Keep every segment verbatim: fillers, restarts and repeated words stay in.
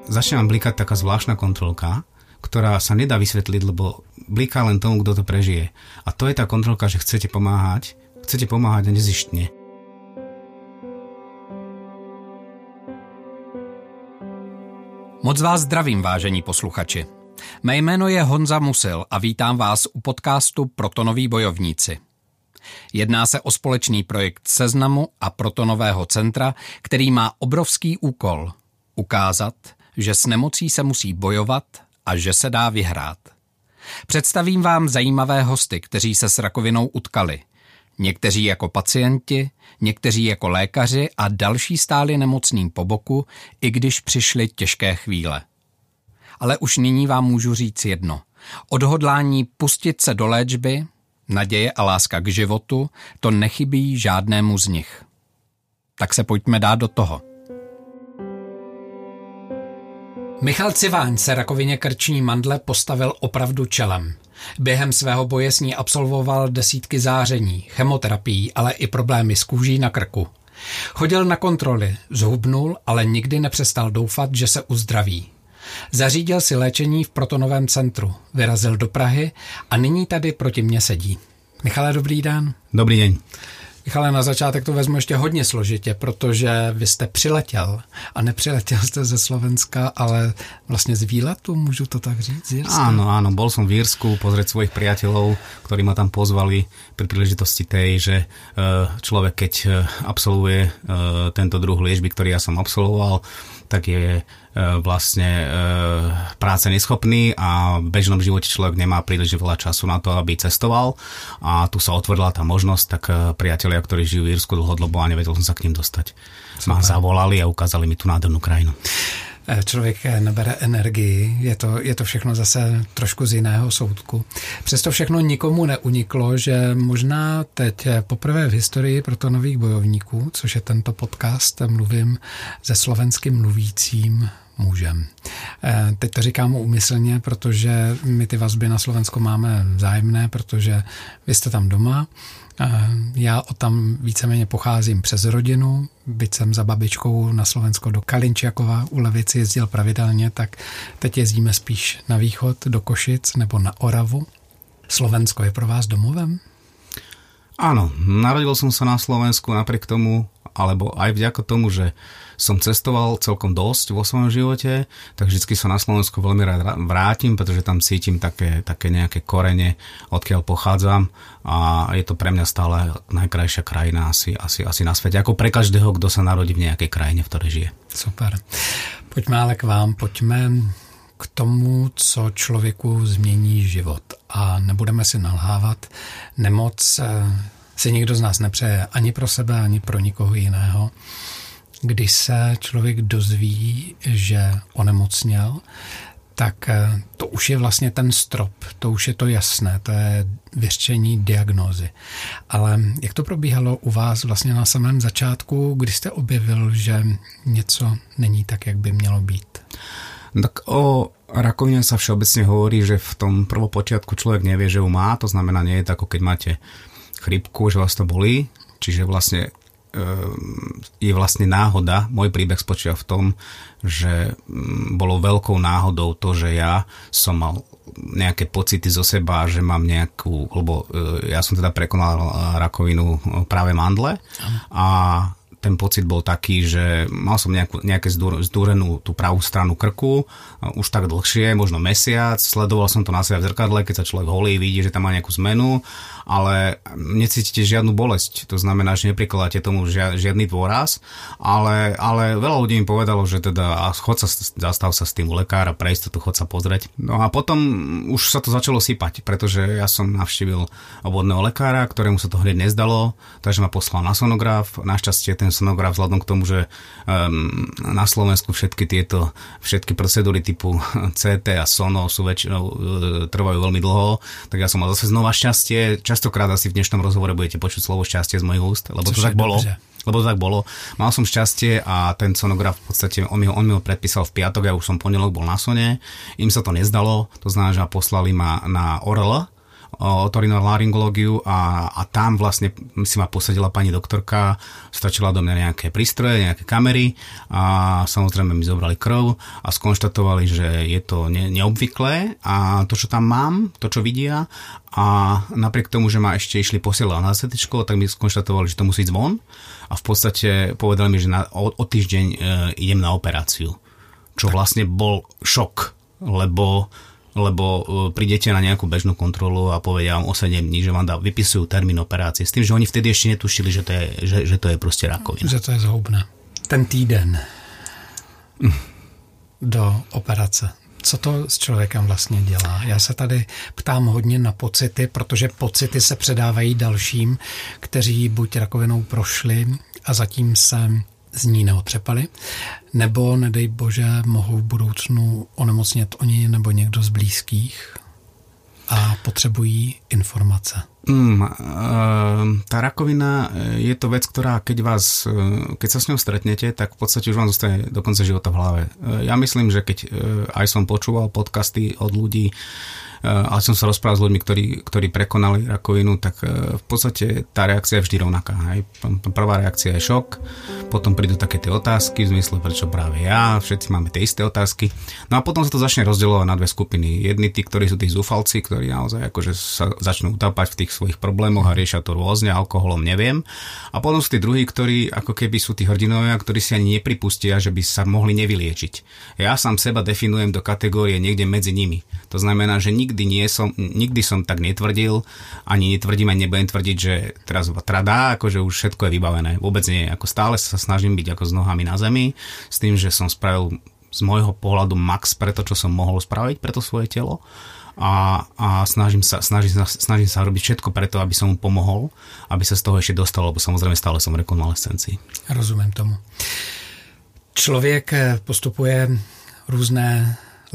začne vám blikať taká zvláštna kontrolka, ktorá sa nedá vysvetliť, lebo bliká len tomu, kto to prežije. A to je tá kontrolka, že chcete pomáhať, chcete pomáhať a nezištne. Moc vás zdravím, vážení posluchači. Mé jméno je Honza Musil a vítám vás u podcastu Protonoví bojovníci. Jedná se o společný projekt Seznamu a Protonového centra, který má obrovský úkol ukázat, že s nemocí se musí bojovat a že se dá vyhrát. Představím vám zajímavé hosty, kteří se s rakovinou utkali. Někteří jako pacienti, někteří jako lékaři a další stáli nemocným po boku, i když přišly těžké chvíle. Ale už nyní vám můžu říct jedno. Odhodlání pustit se do léčby, naděje a láska k životu, to nechybí žádnému z nich. Tak se pojďme dát do toho. Michal Civáň se rakovině krční mandle postavil opravdu čelem. Během svého boje s ní absolvoval desítky záření, chemoterapií, ale i problémy s kůží na krku. Chodil na kontroly, zhubnul, ale nikdy nepřestal doufat, že se uzdraví. Zařídil si léčení v Protonovém centru, vyrazil do Prahy a nyní tady proti mně sedí. Michale, dobrý den. Dobrý deň. Michale, na začátek to vezmu ještě hodně složitě, protože vy jste přiletěl a nepřiletěl jste ze Slovenska, ale vlastně z výletu, můžu to tak říct, z Jirska? Áno, áno, bol som v Írsku pozrieť svojich priateľov, ktorí ma tam pozvali pri príležitosti tej, že človek, keď absolvuje tento druh liečby, ktorý ja som absolvoval, tak je vlastne práce neschopný a v bežnom živote človek nemá príliš veľa času na to, aby cestoval a tu sa otvorila tá možnosť, tak priatelia, ktorí žijú v Írsku dlhodobo a nevedel som sa k ním dostať. Ma zavolali a ukázali mi tú nádhernú krajinu. Člověk nabere energii, je to, je to všechno zase trošku z jiného soudku. Přesto všechno nikomu neuniklo, že možná teď poprvé v historii Protonových bojovníků, což je tento podcast, mluvím se slovensky mluvícím mužem. Teď to říkám úmyslně, protože my ty vazby na Slovensko máme vzájemné, protože vy jste tam doma. Já od tam víceméně pocházím přes rodinu, byť jsem za babičkou na Slovensko do Kalinčiakova u Levici jezdil pravidelně, tak teď jezdíme spíš na východ, do Košic nebo na Oravu. Slovensko je pro vás domovem? Áno, narodil som sa na Slovensku napriek tomu, alebo aj vďaka tomu, že som cestoval celkom dosť vo svojom živote, tak vždycky sa na Slovensku veľmi rád vrátim, pretože tam cítim také, také nejaké korene, odkiaľ pochádzam a je to pre mňa stále najkrajšia krajina asi, asi, asi na svete, ako pre každého, kto sa narodí v nejakej krajine, v ktorej žije. Super. Pojďme ale k vám, pojďme k tomu, co člověku změní život. A nebudeme si nalhávat, nemoc si nikdo z nás nepřeje ani pro sebe, ani pro nikoho jiného. Když se člověk dozví, že onemocněl, tak to už je vlastně ten strop, to už je to jasné, to je vyřčení diagnózy. Ale jak to probíhalo u vás vlastně na samém začátku, kdy jste objevil, že něco není tak, jak by mělo být? Tak o rakovine sa všeobecne hovorí, že v tom prvopočiatku človek nevie, že ju má, to znamená, nie je to ako keď máte chrypku, že vás to bolí, čiže vlastne je vlastne náhoda. Môj príbeh spočíva v tom, že bolo veľkou náhodou to, že ja som mal nejaké pocity zo seba, že mám nejakú, lebo ja som teda prekonal rakovinu práve mandle a ten pocit bol taký, že mal som nejakú, nejaké zdúrenú tú pravú stranu krku, už tak dlhšie, možno mesiac, sledoval som to na sebe v zrkadle, keď sa človek holí, vidí, že tam má nejakú zmenu, ale necítite žiadnu bolesť, to znamená, že neprikladáte tomu žiadny dôraz, ale, ale veľa ľudí mi povedalo, že teda chod sa, zastav sa s tým u lekára, pre istotu chod sa pozrieť. No a potom už sa to začalo sypať, pretože ja som navštívil obvodného lekára, ktorému sa to hneď nezdalo, takže ma poslal na sonograf, našťastie ten sonograf vzhľadom k tomu, že um, na Slovensku všetky tieto všetky procedúry typu cé té a sono sú väčšinou uh, trvajú veľmi dlho, tak ja som mal zase znova šťastie. Častokrát asi v dnešnom rozhovore budete počuť slovo šťastie z mojich úst, lebo to tak bolo. Dobře. Lebo to tak bolo. Mal som šťastie a ten sonograf v podstate, on mi, on mi ho predpísal v piatok, ja už som pondelok bol na sone, im sa to nezdalo, to znamená, že poslali ma na O R L, otorinolaryngológiu a, a tam vlastne si ma posadila pani doktorka, stačila do mňa nejaké prístroje, nejaké kamery a samozrejme mi zobrali krv a skonštatovali, že je to ne, neobvyklé a to, čo tam mám, to, čo vidia a napriek tomu, že ma ešte išli posielať na cé téčko, tak mi skonštatovali, že to musí ísť von a v podstate povedali mi, že na, o, o týždeň e, idem na operáciu. Čo vlastne bol šok, lebo lebo prídete na nejakú bežnú kontrolu a povedia vám o sedem dní, že vám dá, vypisujú termín operácie. S tým, že oni vtedy ešte netušili, že to je, že, že to je proste rakovina. Že to je zhoubné. Ten týden mm. do operace. Co to s člověkem vlastně dělá? Já se tady ptám hodně na pocity, protože pocity se předávají dalším, kteří buď rakovinou prošli a zatím se z ní neotřepali, nebo, nedej bože, mohou v budoucnu onemocnět oni nebo někdo z blízkých a potřebují informace. Mm, tá rakovina je to vec, ktorá keď vás, keď sa s ňou stretnete, tak v podstate už vám zostane do konca života v hlave. Ja myslím, že keď aj som počúval podcasty od ľudí, ale som sa rozprával s ľuďmi, ktorí, ktorí prekonali rakovinu, tak v podstate tá reakcia je vždy rovnaká. Hej. Prvá reakcia je šok, potom prídu také tie otázky v zmysle, prečo práve ja, všetci máme tie isté otázky. No a potom sa to začne rozdielovať na dve skupiny. Jedni tí, ktorí sú tí zúfalci, ktorí naozaj akože sa začnú utápať v tých svojich problémoch a riešia to rôzne, alkoholom, neviem. A potom sú tí druhí, ktorí ako keby sú tí hrdinovia, ktorí si ani nepripustia, že by sa mohli nevyliečiť. Ja sám seba definujem do kategórie niekde medzi nimi. To znamená, že nikdy nie som, nikdy som tak netvrdil, ani netvrdím, ani nebudem tvrdiť, že teraz tradá, akože už všetko je vybavené. Vôbec nie. Ako stále sa snažím byť ako s nohami na zemi, s tým, že som spravil z môjho pohľadu max pre to, čo som mohol spraviť pre to svoje telo. A, a snažím, sa, snažím, sa, snažím sa robiť všetko preto, aby som mu pomohol, aby sa z toho ešte dostal, lebo samozrejme stále som v rekonvalescencii. Rozumím tomu. Člověk postupuje různé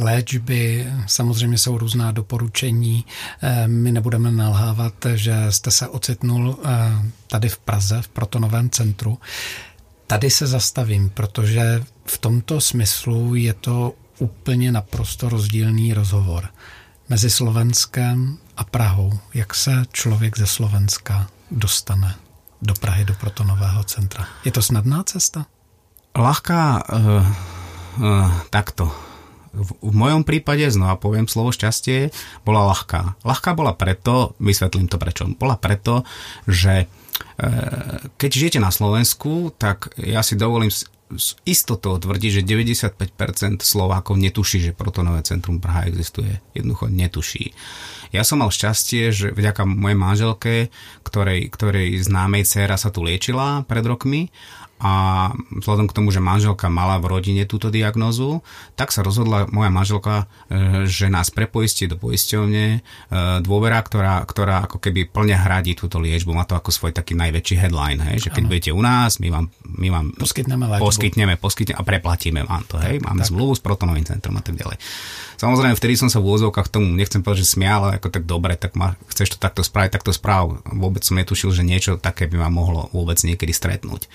léčby, samozřejmě jsou různá doporučení. My nebudeme nalhávat, že jste se ocitnul tady v Praze, v Protonovém centru. Tady se zastavím, protože v tomto smyslu je to úplně naprosto rozdílný rozhovor mezi Slovenskem a Prahou. Jak se člověk ze Slovenska dostane do Prahy, do Protonového centra? Je to snadná cesta? Ľahká, uh, uh, takto. V, v mojom prípade, znova poviem slovo šťastie, bola ľahká. Ľahká bola preto, vysvetlím to prečo, bola preto, že uh, keď žijete na Slovensku, tak ja si dovolím s, s istotou tvrdiť, že deväťdesiatpäť percent Slovákov netuší, že Protonové centrum Praha existuje. Jednoducho netuší. Ja som mal šťastie, že vďaka mojej manželke, ktorej, ktorej známej dcéra sa tu liečila pred rokmi, a vzhľadom k tomu, že manželka mala v rodine túto diagnózu, tak sa rozhodla moja manželka, že nás prepoistí do poisťovne Dôvera, ktorá, ktorá ako keby plne hradí túto liečbu. Má to ako svoj taký najväčší headline, hej? Že keď ano. budete u nás, my vám, my vám poskytneme, poskytneme, poskytneme a preplatíme vám to. Hej? Máme tak, zmluvu tak. s Protonovým centrom a tak ďalej. Samozrejme, vtedy som sa v úvodzovkách tomu, nechcem povedať, že smial, ale ako tak dobre, tak ma, chceš to takto spraviť, takto správ. Vôbec som netušil, že niečo také by ma mohlo vôbec niekedy stretnúť.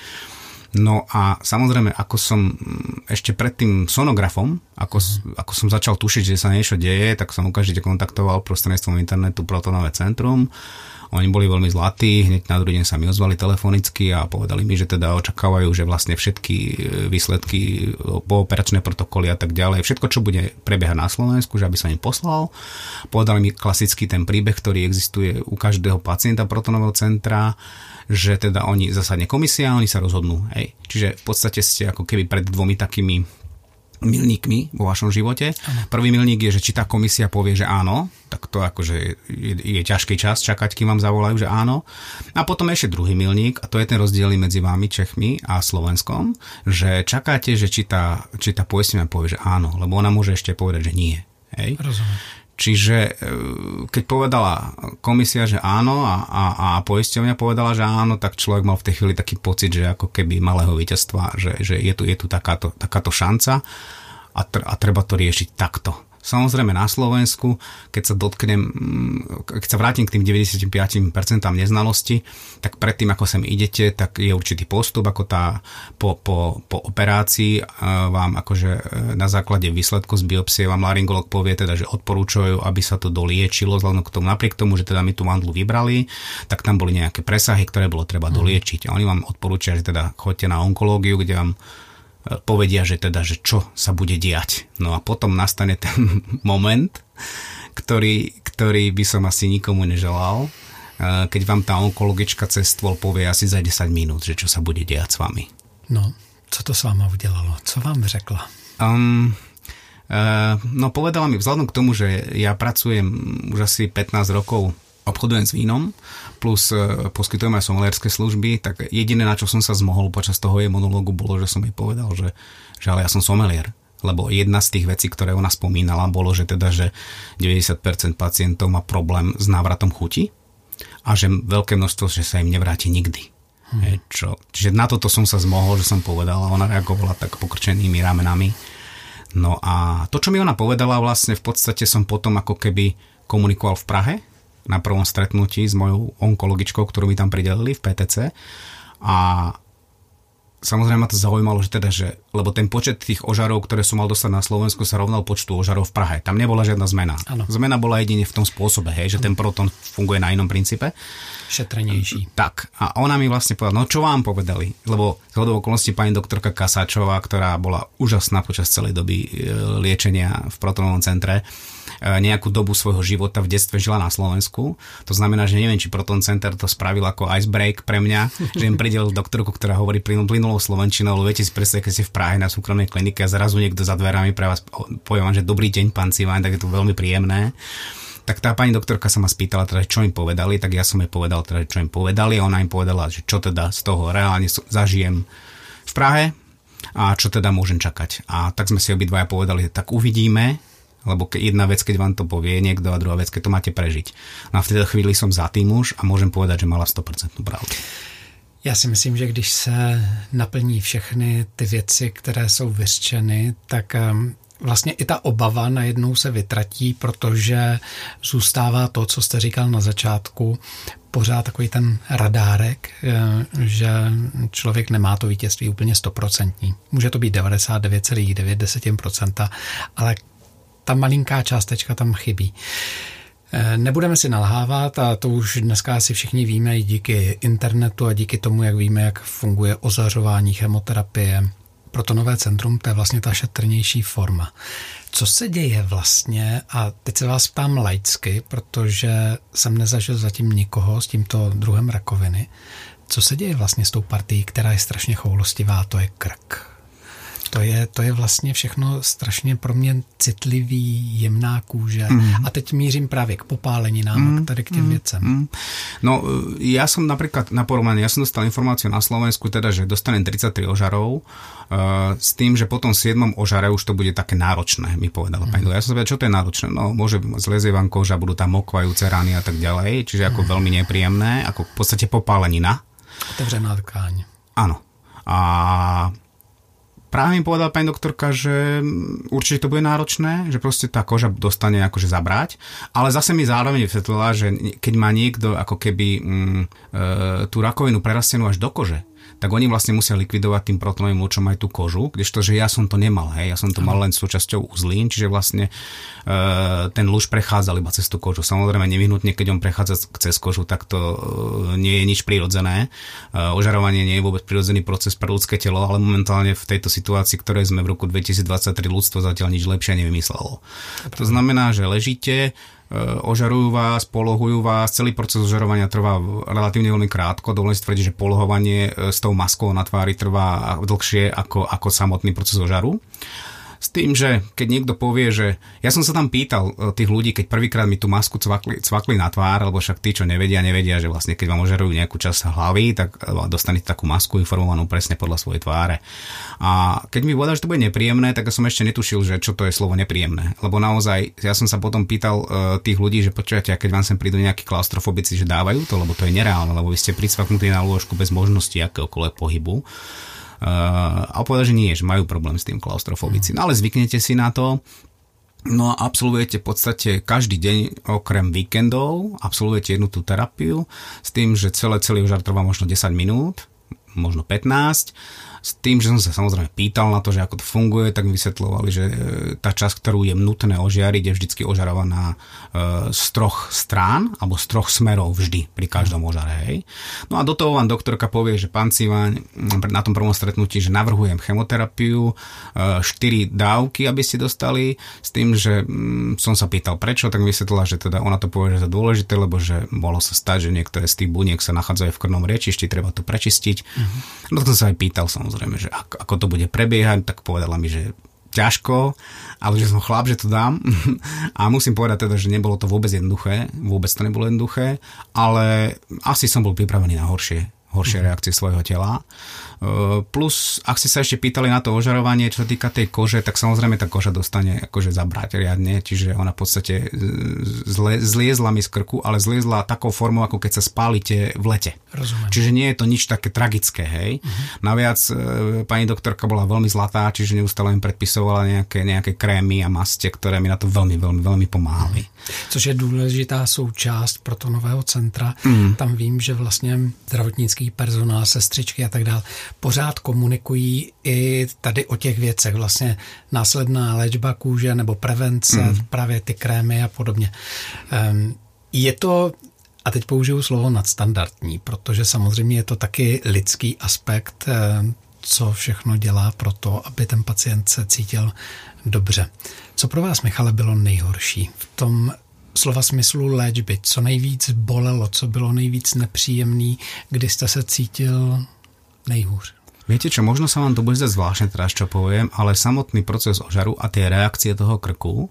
No a samozrejme, ako som ešte pred tým sonografom, ako, ako som začal tušiť, že sa niečo deje, tak som okamžite kontaktoval prostredníctvom internetu Protonové centrum. Oni boli veľmi zlatí, hneď na druhý deň sa mi ozvali telefonicky a povedali mi, že teda očakávajú, že vlastne všetky výsledky, pooperačné protokoly a tak ďalej, všetko, čo bude prebiehať na Slovensku, že aby som im poslal. Povedali mi klasický ten príbeh, ktorý existuje u každého pacienta Protonového centra, že teda oni zasadne komisia a oni sa rozhodnú. Hej. Čiže v podstate ste ako keby pred dvomi takými milníkmi vo vašom živote. Ano. Prvý milník je, že či tá komisia povie, že áno, tak to akože je, je ťažký čas čakať, kým vám zavolajú, že áno. A potom ešte druhý milník, a to je ten rozdiel medzi vami, Čechmi a Slovenskom, že čakáte, že či tá, či tá poistenia povie, že áno, lebo ona môže ešte povedať, že nie. Hej. Rozumiem. Čiže keď povedala komisia, že áno a, a, a poisťovňa povedala, že áno, tak človek mal v tej chvíli taký pocit, že ako keby malého víťazstva, že, že je tu, je tu takáto, takáto šanca a, tr- a treba to riešiť takto. Samozrejme na Slovensku, keď sa dotknem, keď sa vrátim k tým deväťdesiatpäť percent neznalosti, tak predtým, ako sem idete, tak je určitý postup, ako tá po, po, po operácii vám akože na základe výsledkov z biopsie vám laryngolog povie teda, že odporúčajú, aby sa to doliečilo, vzhľadom k tomu, napriek tomu, že teda my tú mandlu vybrali, tak tam boli nejaké presahy, ktoré bolo treba mm. doliečiť. A oni vám odporúčajú, že teda choďte na onkológiu, kde vám povedia, že teda, že čo sa bude diať. No a potom nastane ten moment, ktorý, ktorý by som asi nikomu neželal, keď vám tá onkologička cez stôl povie asi za desať minút, že čo sa bude diať s vami. No, co to s váma udělalo? Co vám řekla? Um, uh, no povedala mi, vzhľadom k tomu, že ja pracujem už asi pätnásť rokov, obchodujem s vínom, plus poskytujem aj somelierské služby, tak jediné, na čo som sa zmohol počas toho jej monológu, bolo, že som jej povedal, že, že ale ja som somelier. Lebo jedna z tých vecí, ktoré ona spomínala, bolo, že teda, že deväťdesiat percent pacientov má problém s návratom chuti a že veľké množstvo, že sa im nevráti nikdy. Hmm. Je, čo, čiže na toto som sa zmohol, že som povedal, a ona reagovala tak pokrčenými ramenami. No a to, čo mi ona povedala, vlastne v podstate som potom ako keby komunikoval v Prahe, na prvom stretnutí s mojou onkologičkou, ktorú mi tam pridelili v pé té cé. A samozrejme ma to zaujímalo, že teda, že, lebo ten počet tých ožarov, ktoré som mal dostať na Slovensku, sa rovnal počtu ožarov v Prahe. Tam nebola žiadna zmena. Ano. Zmena bola jedine v tom spôsobe, hej, že ano. Ten proton funguje na inom princípe. Šetrnejší. Tak. A ona mi vlastne povedala, no čo vám povedali? Lebo z hodou okolností pani doktorka Kasáčová, ktorá bola úžasná počas celej doby liečenia v protonovom centre, nejakú dobu svojho života v detstve žila na Slovensku. To znamená, že neviem, či Proton Center to spravil ako icebreak pre mňa, že im pridelil doktorku, ktorá hovorí plynulou slovenčinou, lebo viete si predstaviť, keď ste v Prahe na súkromnej klinike a zrazu niekto za dverami pre vás povie vám, že dobrý deň, pán Civáň, tak je to veľmi príjemné. Tak tá pani doktorka sa ma spýtala, teda, čo im povedali, tak ja som jej povedal, teda, čo im povedali a ona im povedala, že čo teda z toho reálne zažijem v Prahe a čo teda môžem čakať. A tak sme si obidvaja povedali, tak uvidíme, lebo jedna vec, keď vám to povie niekto a druhá vec, keď to máte prežiť. No a v tejto chvíli som za tým už a môžem povedať, že mala sto percent pravdu. Já si myslím, že když se naplní všechny ty věci, které jsou vyřčeny, tak vlastně i ta obava najednou se vytratí, protože zůstává to, co jste říkal na začátku, pořád takový ten radárek, že člověk nemá to vítězství úplně stoprocentní. Může to být devadesát devět celá devět procenta, ale ta malinká částečka tam chybí. Nebudeme si nalhávat a to už dneska asi všichni víme i díky internetu a díky tomu, jak víme, jak funguje ozařování, chemoterapie. Protonové centrum, to je vlastně ta šetrnější forma. Co se děje vlastně, a teď se vás ptám laicky, protože jsem nezažil zatím nikoho s tímto druhem rakoviny, co se děje vlastně s tou partií, která je strašně choulostivá, to je krk. To je, to je vlastně všechno strašně pro mě citlivý, jemná kůže. Mm. A teď mířím právě k popáleninám mm. a tady k těm mm. věcem. Mm. No, ja som napríklad na porovnanie, ja som dostal informáciu na Slovensku, teda, že dostanem tridsaťtri ožarov, uh, s tým, že potom v siedmom ožare už to bude také náročné, mi povedala mm. pani. Ja som sa povedal, čo to je náročné? No, môže zlezie vám koža, budú tam mokvajúce rany a tak ďalej, čiže ako mm. veľmi nepríjemné, ako v podstate popálenina. Otevřená tkáň. Áno. A práve mi povedala pani doktorka, že určite to bude náročné, že proste tá koža dostane akože zabrať, ale zase mi zároveň vysvetlila, že keď má niekto ako keby mm, e, tú rakovinu prerastenú až do kože, tak oni vlastne musia likvidovať tým protonovým lúčom aj tú kožu, kdežto, že ja som to nemal, hej, ja som to mal len súčasťou uzlín, čiže vlastne e, ten lúč prechádzal iba cez tú kožu. Samozrejme nevyhnutne, keď on prechádza cez kožu, tak to e, nie je nič prirodzené. E, ožarovanie nie je vôbec prirodzený proces pre ľudské telo, ale momentálne v tejto situácii, ktorej sme v roku dvetisícdvadsaťtri, ľudstvo zatiaľ nič lepšie nevymyslelo. To znamená, že ležíte, ožarujú vás, polohujú vás, celý proces ožarovania trvá relatívne veľmi krátko, dovolím si tvrdiť, že polohovanie s tou maskou na tvári trvá dlhšie ako, ako samotný proces ožaru. S tým, že keď niekto povie, že ja som sa tam pýtal tých ľudí, keď prvýkrát mi tú masku cvakli, cvakli na tvár, lebo však tí, čo nevedia, nevedia, že vlastne keď vám ožarujú nejakú časť hlavy, tak dostanete takú masku informovanú presne podľa svojej tváre. A keď mi povedal, že to bude nepríjemné, tak som ešte netušil, že čo to je slovo nepríjemné. Lebo naozaj, ja som sa potom pýtal uh, tých ľudí, že počujete, keď vám sem prídu nejakí klaustrofobici, že dávajú to, lebo to je nereálne, lebo vy ste pricvaknutí na lôžku bez možnosti akéhokoľvek pohybu. Uh, a povedal, že nie, že majú problém s tým klaustrofobici. No ale zvyknete si na to No a absolvujete v podstate každý deň okrem víkendov, absolvujete jednu tú terapiu s tým, že celé, celý ožar trvá možno desať minút, možno pätnásť. S tým, že som sa samozrejme pýtal na to, že ako to funguje, tak mi vysvetľovali, že tá časť, ktorú je nutné ožiariť, je vždycky ožarovaná z troch strán, alebo z troch smerov vždy, pri každom ožare. Hej. No a do toho vám doktorka povie, že pán Civaň, na tom prvom stretnutí, že navrhujem chemoterapiu, štyri dávky, aby ste dostali, s tým, že som sa pýtal prečo, tak mi vysvetlila, že teda ona to povie, že to dôležité, lebo že mohlo sa stať, že niektoré z tých buniek sa nachádzajú v krvnom riečišti, treba to prečistiť. Uh-huh. No to som sa aj pýtal, som Samozrejme, že ako, ako to bude prebiehať, tak povedala mi, že ťažko, ale že som chlap, že to dám. A musím povedať teda, že nebolo to vôbec jednoduché, vôbec to nebolo jednoduché, ale asi som bol pripravený na horšie, horšie reakcie svojho tela. Plus, ak ste sa ešte pýtali na to ožarovanie, čo sa týka tej kože, tak samozrejme tá koža dostane akože zabrať riadne, čiže ona v podstate zle, zliezla mi z krku, ale zliezla takou formou, ako keď sa spálite v lete. Rozumiem. Čiže nie je to nič také tragické, hej. Uh-huh. Naviac pani doktorka bola veľmi zlatá, čiže neustále im predpisovala nejaké, nejaké krémy a maste, ktoré mi na to veľmi, veľmi, veľmi pomáhali. Což je důležitá součást protonového centra. Uh-huh. Tam vím, že vlastně zdravotnický personál, sestřičky a tak dále pořád komunikují i tady o těch věcech, vlastně následná léčba kůže nebo prevence, mm. právě ty krémy a podobně. Je to, a teď použiju slovo nadstandardní, protože samozřejmě je to taky lidský aspekt, co všechno dělá pro to, aby ten pacient se cítil dobře. Co pro vás, Michale, bylo nejhorší v tom slova smyslu léčby? Co nejvíc bolelo, co bylo nejvíc nepříjemný, kdy jste se cítil nejhůř? Viete čo, možno sa vám to bude zdať zvláštne teraz, čo poviem, ale samotný proces ožaru a tie reakcie toho krku, uh,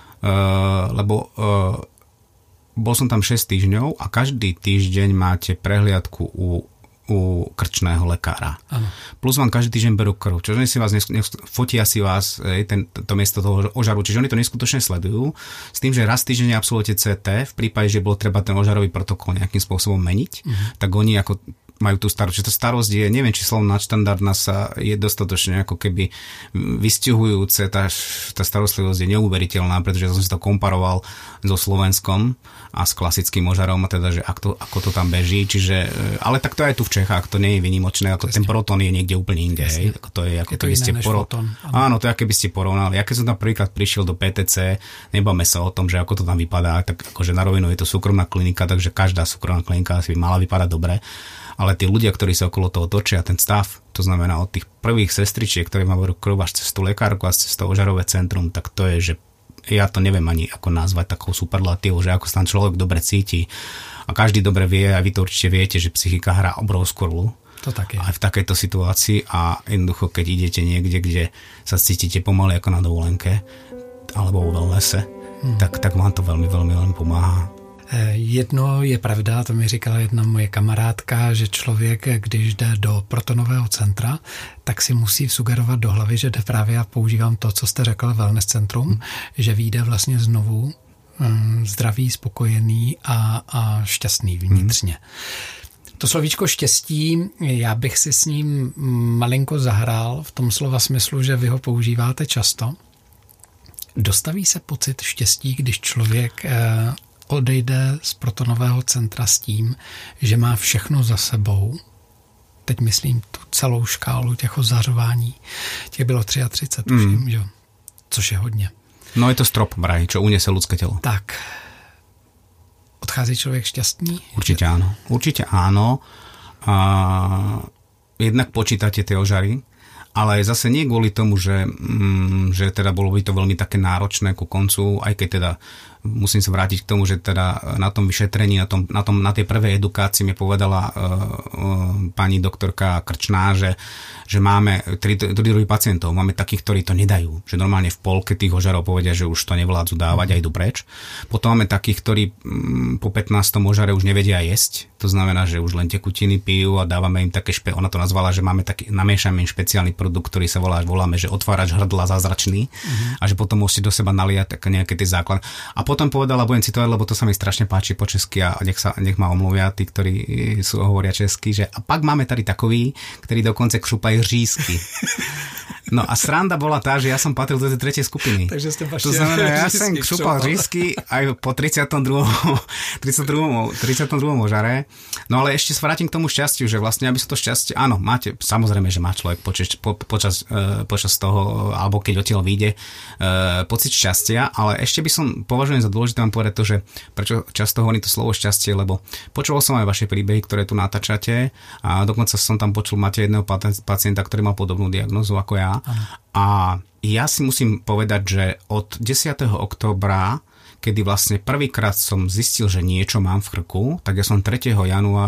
lebo uh, bol som tam šesť týždňov a každý týždeň máte prehliadku u, u krčného lekára. Ano. Plus vám každý týždeň berú krv, čiže oni si vás nesk- nesk- fotia si vás ten, to miesto toho ožaru, čiže oni to neskutočne sledujú, s tým, že raz týždenne absolvujete cé té, v prípade, že bolo treba ten ožarový protokol nejakým spôsobom meniť, uh-huh. tak oni ako majú tú starosť. Čiže tá starosť je, neviem, či slovo nadštandardná sa je dostatočne ako keby vystihujúce. Tá, tá starostlivosť je neuveriteľná, pretože som si to komparoval so Slovenskom a s klasickým ožarom, a teda, že ako to, ako to tam beží. Čiže, ale tak to aj tu v Čechách, to nie je výnimočné, ako ten proton je niekde úplne inde. Hej. Ako to je, ako je to keby ste poro... Áno, to je, ako keby ste porovnali. Ja keď som tam prvýkrát prišiel do pé té cé, nebáme sa o tom, že ako to tam vypadá, tak akože na rovinu je to súkromná klinika, takže každá súkromná klinika asi by mala vypadať dobre. Ale tí ľudia, ktorí sa okolo toho točia, ten stav, to znamená od tých prvých sestričiek, ktoré má v krv až cez tú lekárku a cez to ožarové centrum, tak to je, že ja to neviem ani ako nazvať takou superlatívou, že ako sa tam človek dobre cíti. A každý dobre vie, a vy to určite viete, že psychika hrá obrovskú rolu. To tak je. Aj v takejto situácii a jednoducho, keď idete niekde, kde sa cítite pomaly ako na dovolenke alebo vo wellnesse, hmm. tak, tak vám to veľmi, veľmi, veľmi pomáha. Jedno je pravda, to mi říkala jedna moje kamarádka, že člověk, když jde do protonového centra, tak si musí sugerovat do hlavy, že jde právě, já používám to, co jste řekl, wellness centrum, hmm. že vyjde vlastně znovu um, zdravý, spokojený a, a šťastný vnitřně. Hmm. To slovíčko štěstí, já bych si s ním malinko zahrál v tom slova smyslu, že vy ho používáte často. Dostaví se pocit štěstí, když člověk eh, odejde z protonového centra s tím, že má všechno za sebou. Teď myslím tu celou škálu těch ozařování. Těch bylo třicet tři, tuším, mm. že? Což je hodně. No je to strop, braj, čo uniese ľudské telo. Tak. Odchází člověk šťastný? Určite áno. Určite áno. A jednak počítate tie ožary, ale zase nie kvôli tomu, že, mm, že teda bolo by to veľmi také náročné ku koncu, aj keď teda musím sa vrátiť k tomu, že teda na tom vyšetrení, na, tom, na, tom, na tej prvej edukácii mi povedala uh, uh, pani doktorka Krčná, že, že máme tri, tri druhy pacientov. Máme takých, ktorí to nedajú. Že normálne v polke tých ožarov povedia, že už to nevládzu dávať a idú preč. Potom máme takých, ktorí um, po pätnástom ožare už nevedia jesť. To znamená, že už len tekutiny pijú a dávame im také, špe, ona to nazvala, že máme taký, namiešame im špeciálny produkt, ktorý sa volá, voláme, že otvárač hrdla zázračný uh-huh. a že potom musíte do seba naliať nejaké tie základy. A potom povedala, budem citovať, lebo to sa mi strašne páči po česky a nech, sa, nech ma omluvia tí, ktorí sú, hovoria česky, že a pak máme tady takový, ktorí dokonce křupajú řízky. No a sranda bola tá, že ja som patril do tej tretej skupiny. Takže ste to znamená, ja som šupal řízky aj po tridsiatom druhom tridsiatom druhom ožare. No ale ešte sa vrátim k tomu šťastiu, že vlastne, aby sa to šťastie, áno, máte, samozrejme, že má človek počas, po, počas, uh, počas toho, alebo keď odtiaľ vyjde, uh, pocit šťastia, ale ešte by som považujem za dôležité vám povedať to, že prečo často hovorím to slovo šťastie, lebo počúval som aj vaše príbehy, ktoré tu natáčate a dokonca som tam počul, máte jedného pacienta, ktorý mal podobnú diagnózu ako ja. A ja si musím povedať, že od desiateho októbra, kedy vlastne prvýkrát som zistil, že niečo mám v krku, tak ja som tretieho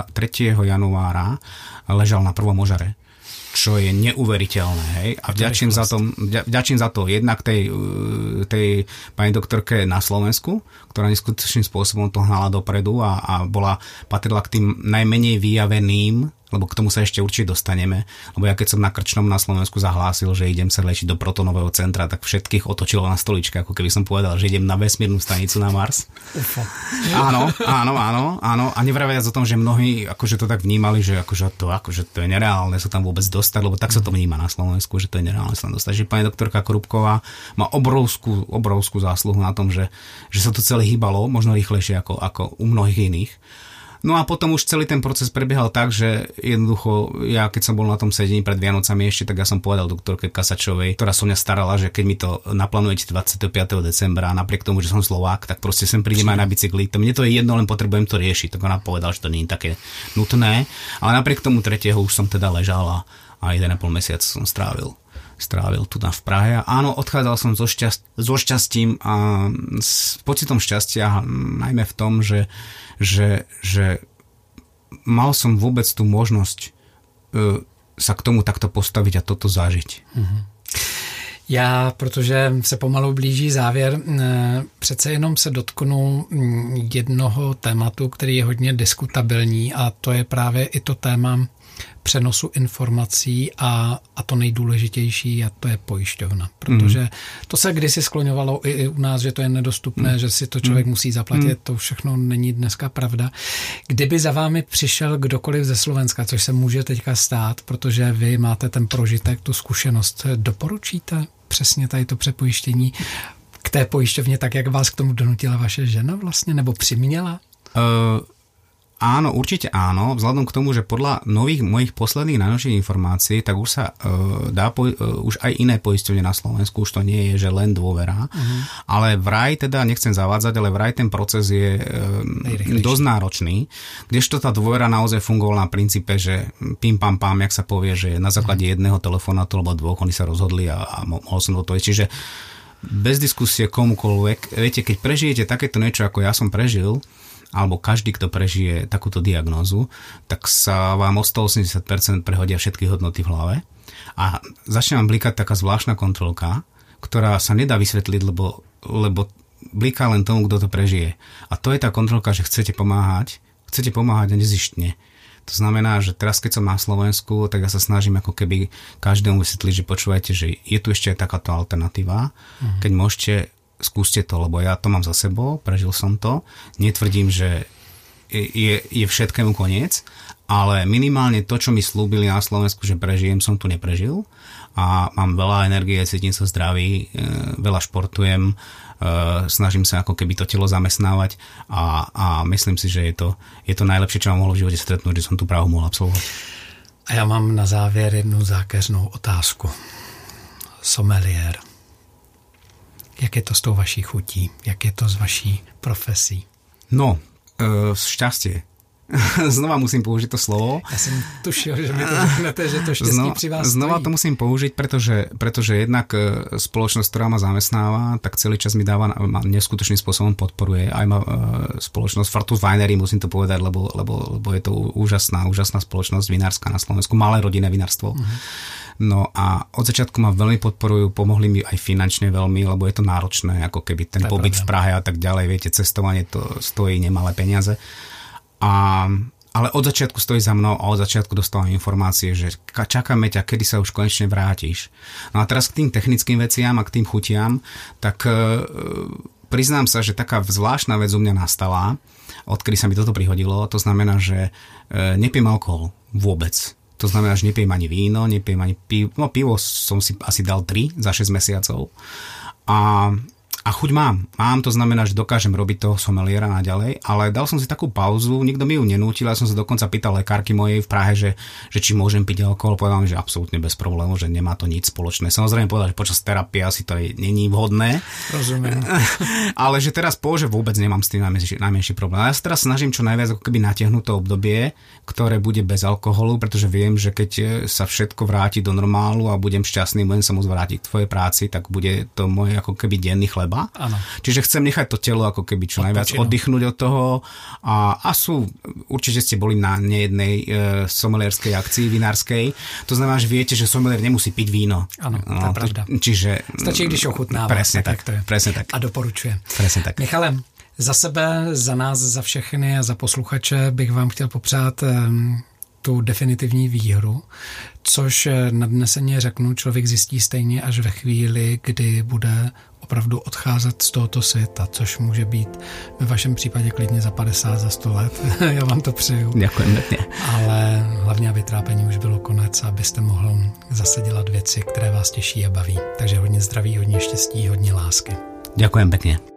januára ležal na prvom ožare. Čo je neuveriteľné, hej. A vďačím za to, vďačím za to jednak tej, tej pani doktorke na Slovensku, ktorá neskutočným spôsobom to hnala dopredu a, a bola, patrila k tým najmenej vyjaveným, lebo k tomu sa ešte určite dostaneme, lebo ja keď som na Krčnom na Slovensku zahlásil, že idem sa liečiť do protonového centra, tak všetkých otočilo na stoličke, ako keby som povedal, že idem na vesmírnu stanicu na Mars. Ufa. Áno, áno, áno, áno. A nevraviac o tom, že mnohí akože to tak vnímali, že akože to, akože to je nereálne sa tam vôbec dostať, lebo tak sa to vníma na Slovensku, že to je nereálne sa tam dostať. Že pani doktorka Krupková má obrovskú, obrovskú zásluhu na tom, že, že sa to celé hýbalo, možno rýchlejšie ako, ako u mnohých iných. No a potom už celý ten proces prebiehal tak, že jednoducho ja keď som bol na tom sedení pred Vianocami ešte, tak ja som povedal doktorke Kasačovej, ktorá som mňa starala, že keď mi to naplánujete dvadsiateho piateho decembra a napriek tomu, že som Slovák, tak proste sem prídem aj na bicykli. To mne to je jedno, len potrebujem to riešiť. Tak ona povedala, že to nie je také nutné, ale napriek tomu tretieho už som teda ležal a, a jeden a pol mesiac som strávil. strávil tu na v Prahe. A áno, odchádzal som so, šťast, so šťastím a s pocitom šťastia, najmä v tom, že, že, že mal som vôbec tú možnosť uh, sa k tomu takto postaviť a toto zažiť. Mm-hmm. Já, protože se pomalu blíží závěr, přece jenom se dotknu jednoho tématu, který je hodně diskutabilní, a to je právě i to téma přenosu informací a, a to nejdůležitější, a to je pojišťovna. Protože to se kdysi skloňovalo i, i u nás, že to je nedostupné, mm. že si to člověk mm. musí zaplatit, mm. to všechno není dneska pravda. Kdyby za vámi přišel kdokoliv ze Slovenska, což se může teďka stát, protože vy máte ten prožitek, tu zkušenost, doporučíte přesně tady to přepojištění k té pojišťovně, tak jak vás k tomu donutila vaše žena vlastně, nebo přiměla? Uh... Áno, určite áno, vzhľadom k tomu, že podľa nových mojich posledných najnovších informácií, tak už sa uh, dá po, uh, už aj iné poisťovne na Slovensku, už to nie je, že len dôvera, uh-huh. ale vraj, teda nechcem zavádzať, ale vraj ten proces je uh, dosť náročný, kdežto tá dôvera naozaj fungovala na princípe, že pim pam pam, jak sa povie, že na základe uh-huh. jedného telefonátu alebo dvoch oni sa rozhodli a, a mohol som do toho. Čiže bez diskusie komukoľvek, viete, keď prežijete takéto niečo, ako ja som prežil, alebo každý, kto prežije takúto diagnózu, tak sa vám o stoosemdesiat percent prehodia všetky hodnoty v hlave a začne vám blikať taká zvláštna kontrolka, ktorá sa nedá vysvetliť, lebo, lebo bliká len tomu, kto to prežije. A to je tá kontrolka, že chcete pomáhať, chcete pomáhať a nezištne. To znamená, že teraz, keď som na Slovensku, tak ja sa snažím ako keby každému vysvetliť, že počúvajte, že je tu ešte aj takáto alternatíva, mhm. keď môžete, skúste to, lebo ja to mám za sebou, prežil som to. Netvrdím, že je, je všetkému koniec, ale minimálne to, čo mi slúbili na Slovensku, že prežijem, som tu neprežil a mám veľa energie, cítim sa zdravý, veľa športujem, snažím sa ako keby to telo zamestnávať a, a myslím si, že je to, je to najlepšie, čo mám mohlo v živote stretnúť, že som tú právu mohol absolvovať. A já mám na závěr jednu zákeřnou otázku. Sommelier. Jak je to s tou vaší chutí? Jak je to s vaší profesí? No, e, šťastie. Znova musím použiť to slovo. Ja som tušil, že mi to řeknete, že to šťastie znova, pri vás Znova stojí. to musím použiť, pretože, pretože jednak spoločnosť, ktorá ma zamestnáva, tak celý čas mi dáva, ma neskutočným spôsobom podporuje. Aj ma e, spoločnosť Fartus Winery, musím to povedať, lebo, lebo, lebo je to úžasná, úžasná spoločnosť vinárska na Slovensku. Malé rodinné vinárstvo. Uh-huh. No a od začiatku ma veľmi podporujú, pomohli mi aj finančne veľmi, lebo je to náročné, ako keby ten pobyt v Prahe a tak ďalej, viete, cestovanie to stojí nemalé peniaze. A, ale od začiatku stojí za mnou a od začiatku dostávam informácie, že čakáme ťa, kedy sa už konečne vrátiš. No a teraz k tým technickým veciam a k tým chutiam, tak e, priznám sa, že taká zvláštna vec u mňa nastala, odkedy sa mi toto prihodilo, to znamená, že e, nepím alkohol vôbec. To znamená, že nepijem ani víno, nepijem ani pivo. No pivo som si asi dal tri za šesť mesiacov. A A chuť mám. Mám, to znamená, že dokážem robiť toho someliera naďalej, ale dal som si takú pauzu, nikto mi ju nenútil, ja som sa dokonca pýtal lekárky mojej v Prahe, že, že či môžem piť alkohol, povedal mi, že absolútne bez problémov, že nemá to nič spoločné. Samozrejme povedal, že počas terapie asi to není vhodné. Rozumiem. Ale že teraz po, že vôbec nemám s tým najmenší, najmenší problém. A ja sa teraz snažím čo najviac ako keby natiahnuť to obdobie, ktoré bude bez alkoholu, pretože viem, že keď sa všetko vráti do normálu a budem šťastný, budem sa môcť vrátiť k tvojej práci, tak bude to moje ako keby denný chleba. Áno. Čiže chcem nechať to telo ako keby čo najviac oddychnúť od toho a, a sú, určite ste boli na nejednej e, somelierskej akcii vinárskej, to znamená, že viete, že somelier nemusí piť víno. Áno, to je pravda. Čiže, stačí, když ochutnává. Presne tak, tak, presne tak. A doporučuje. Presne tak. Michale, za sebe, za nás, za všechny a za posluchače bych vám chtěl popřát um, tu definitivní výhru, což nadneseně řeknu, člověk zjistí stejně až ve chvíli, kdy bude opravdu odcházet z tohoto světa, což může být ve vašem případě klidně za padesát, za sto let. Já vám to přeju. Ďakujem pekne. Ale hlavně, aby trápení už bylo konec, abyste mohl zase dělat věci, které vás těší a baví. Takže hodně zdraví, hodně štěstí, hodně lásky. Ďakujem pekne.